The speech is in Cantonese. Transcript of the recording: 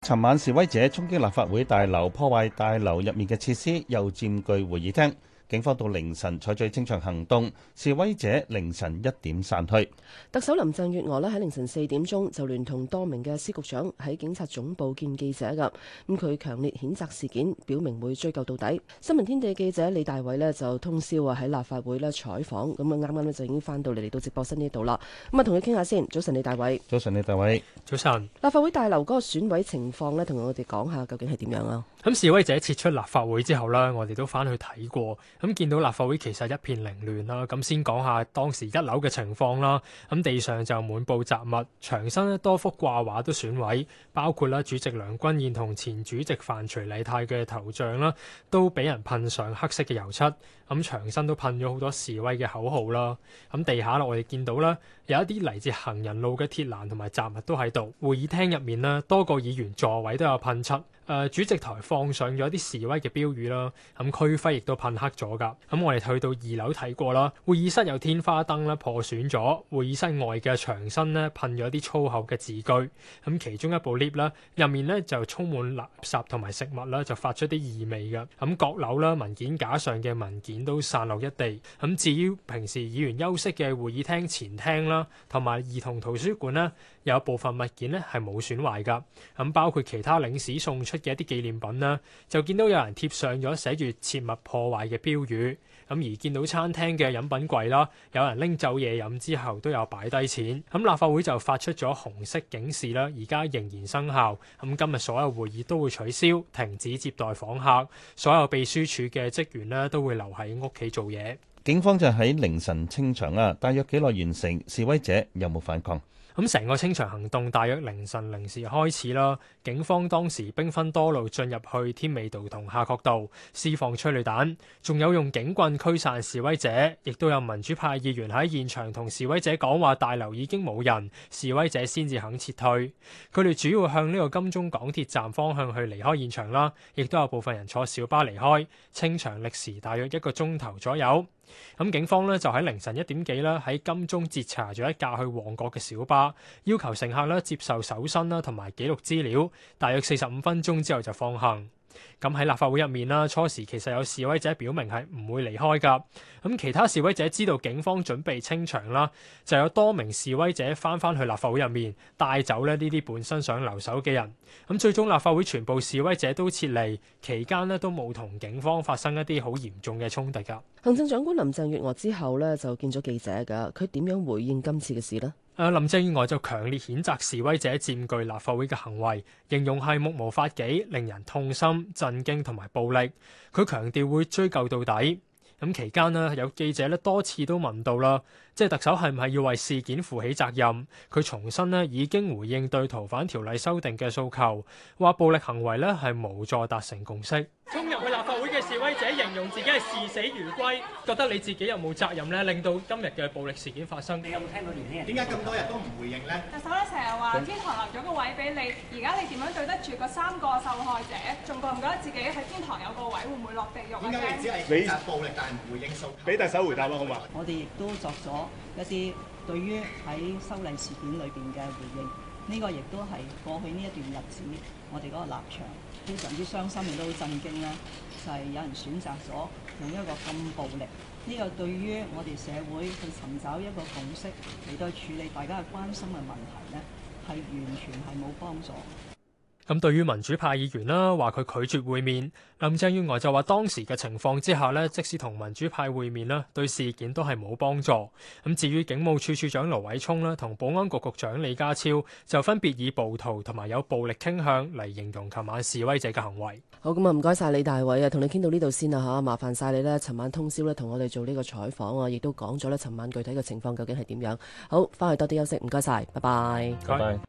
尋晚示威者衝擊立法會大樓，破壞大樓入面嘅設施，又佔據會議廳。警方到凌晨採取清場行動，示威者凌晨1點散去。 特首林鄭月娥喺凌晨4點鐘就聯同多名嘅司局長喺警察總部見記者㗎。咁佢強烈譴責事件，表明會追究到底。新聞天地記者李大偉就通宵喺立法會採訪，咁啱啱就已經翻到嚟到直播室呢度啦。咁同佢傾下先。早晨，李大偉。 早晨，李大偉。 早晨。 立法會大樓嗰個損毀情況呢，同我哋講下究竟係點樣啊？ 咁示威者撤出立法會之後呢，我哋都翻去睇過，咁見到立法會其實一片凌亂啦。咁先講下當時1樓嘅情況啦。咁地上就滿布雜物，牆身多幅掛畫都損毀，包括主席梁君彥同前主席范徐麗泰嘅頭像啦，都俾人噴上黑色嘅油漆。咁牆身都噴咗好多示威嘅口號啦。咁地下我哋見到啦，有一啲嚟自行人路嘅鐵欄同埋雜物都喺度。會議廳入面啦，多個議員座位都有噴漆。主席台放上咗一啲示威嘅標語啦，咁區徽亦都噴黑咗㗎。咁我哋去到2樓睇過啦，會議室有天花燈咧破損咗，會議室外嘅牆身咧噴咗啲粗口嘅字句。咁其中一部 lift 啦，入面咧就充滿垃圾同埋食物啦，就發出啲異味㗎。咁閣樓啦，文件架上嘅文件都散落一地。咁至於平時議員休息嘅會議廳前廳啦，同埋兒童圖書館咧，有部分物件咧係冇損壞㗎。咁包括其他領事送出嘅一啲紀念品啦，就見到有人貼上咗寫住切勿破壞嘅標語。咁而見到餐廳嘅飲品櫃啦，有人拎走嘢飲之後都有擺低錢。咁立法會就發出咗紅色警示啦，而家仍然生效。咁今日所有會議都會取消，停止接待訪客，所有秘書處嘅職員呢都會留喺屋企做嘢。 警方就喺凌晨清場啊，大約幾耐完成？示威者有冇反抗？ 咁成個清場行動大約凌晨0時開始啦。警方當時兵分多路進入去添美道同夏慤道，施放催淚彈，仲有用警棍驅散示威者，亦都有民主派議員喺現場同示威者講話大樓已經冇人，示威者先至肯撤退。佢哋主要向呢個金鐘港鐵站方向去離開現場啦，亦都有部分人坐小巴離開。清場歷時大約1個鐘頭左右。咁警方呢就喺凌晨1點幾啦，喺金鐘截查咗一架去旺角嘅小巴，要求乘客呢接受搜身啦同埋記錄資料，大約45分鐘之後就放行。咁喺立法會入面啦，初時其實有示威者表明係唔會離開㗎。咁其他示威者知道警方準備清場啦，就有多名示威者翻去立法會入面，帶走呢啲本身想留守嘅人。咁最終立法會全部示威者都撤離，期間呢都冇同警方發生一啲好嚴重嘅衝突㗎。 行政長官林鄭月娥之後呢就見咗記者㗎，佢點樣回應今次嘅事呢？ 林鄭月娥就強烈譴責示威者佔據立法會嘅行為，形容係目無法紀，令人痛心、震驚同埋暴力。佢強調會追究到底。咁期間呢，有記者多次都問到啦，即係特首係唔係要為事件負起責任？佢重申呢已經回應對逃犯條例修訂嘅訴求，話暴力行為呢係無助達成共識。衝入去立法會嘅示威者形容自己係視死如歸，覺得你自己有冇責任呢？令到今日嘅暴力事件發生？你有冇聽到年輕人點解咁多日都唔回應呢？ 特首咧成日話天堂留咗個位俾你，而家你點樣對得住個3個受害者？仲覺唔覺得自己喺天堂有個位，會唔會落地獄？點解你只係譴責暴力，但係唔回應訴求？俾特首回答啦，好嘛？ 我哋亦都作咗一啲對於喺修例事件裏邊嘅回應，呢個亦都係過去呢一段日子我哋嗰個立場非常之傷心，亦都好震驚啦。就係有人選擇咗用一個咁暴力，呢個對於我哋社會去尋找一個共識嚟到處理大家嘅關心嘅問題呢，係完全係冇幫助。 咁對於民主派議員啦，話佢拒絕會面，林鄭月娥就話當時嘅情況之下呢，即使同民主派會面啦，對事件都係冇幫助。咁至於警務處處長盧偉聰啦，同保安局局長李家超就分別以暴徒同埋有暴力傾向嚟形容琴晚示威者嘅行為。 好，咁啊唔該晒李大偉啊，同你傾到呢度先啦嚇，麻煩晒你呢，尋晚通宵呢同我哋做呢個採訪啊，亦都講咗呢尋晚具體嘅情況究竟係點樣。好，翻去多啲休息，唔該晒，拜拜。 拜拜。